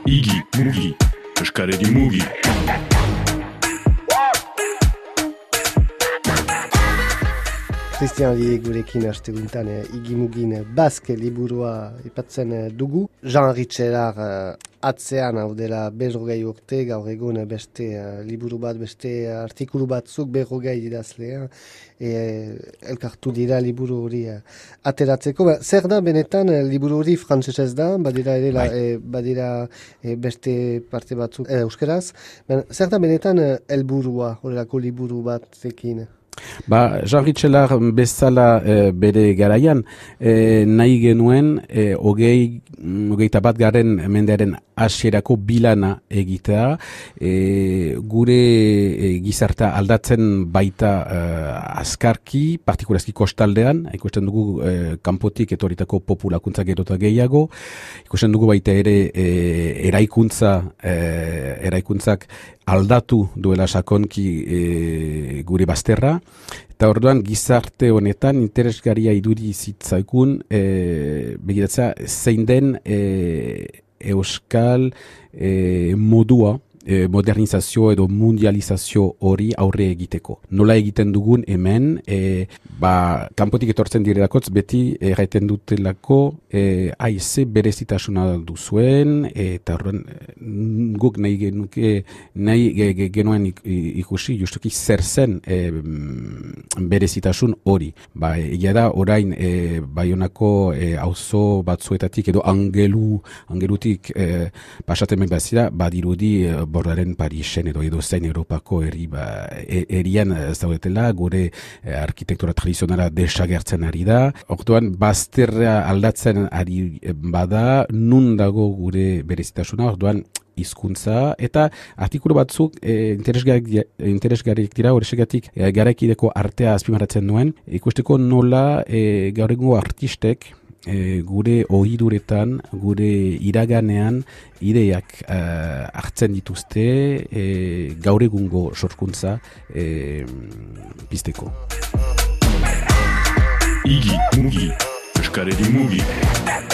Igi, mugi, eskaredi mugi. Christian Lie gurekin asteguntan igimugin Baske liburua ipatzen dugu. Jean Ritchelar atzean hau dela 40 urte, gaur egun beste liburu bat, beste artikulu batzuk 40 idazlea elkartu dira liburu hori ateratzeko. Zer da benetan liburu hori frantsesez da, badira ere badira beste parte batzuk euskeraz. Zer da benetan helburua horrelako liburu batekin? Jean Ritchelar bezala bere garaian nahi genuen hogeita bat garren mendearen hasierako bilana egitea, gure gizartea aldatzen baita azkarki, partikularski kostaldean, ikusten dugu kanpotik etorritako populakuntza gero eta gehiago, ikusten dugu baita ere eraikuntzak aldatu duela sakonki gure bazterra, eta orduan gizarte honetan interesgarria iduri zitzaikun begiratzea zein den euskal modua, modernizazio edo mundializazio hori aurre egiteko. Nola egiten dugun hemen, kanpotik etortzen direlakotz beti erraiten dutelako ze berezitasuna duzuen, eta horren guk nahi genuen ikusi justuki zer zen berezitasun hori. Egia da orain Baionako auzo batzuetatik edo angelutik pasaten bazira, badirudi Bordaren Parisen edo zein Europako erian zaudetela, gure arkitektura tradizionala desagertzen ari da. Orduan, bazterra aldatzen ari bada, nun dago gure berezitasuna, orduan, hizkuntza eta artikulu batzuk interesgarriak dira, horrexegatik garaikideko artea azpimarratzen duen, ikusteko nola gaur egungo artistek gure ohiduretan, gure iraganean ideiak hartzen dituzte gaur egungo sorkuntza pizteko. Igi, mugi, eskaredi mugi.